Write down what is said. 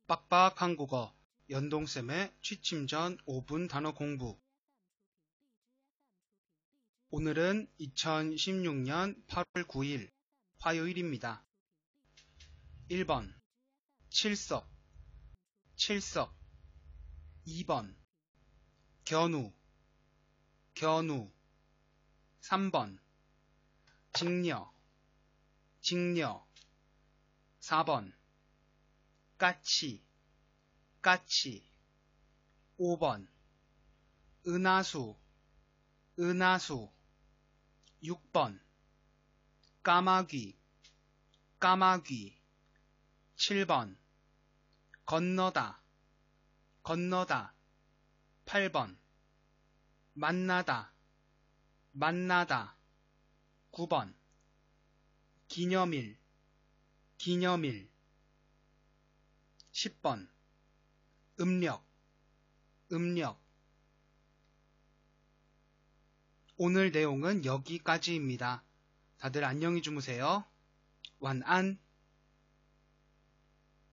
빡빡 한국어 연동쌤의 취침 전 5분 단어 공부. 오늘은 2016년 8월 9일 화요일입니다. 1번 칠석 2번 견우 3번 직녀 4번 까치 5번 은하수 6번 까마귀 7번 건너다 8번 만나다 9번 기념일 10번 음력 오늘 내용은 여기까지입니다. 다들 안녕히 주무세요.晚安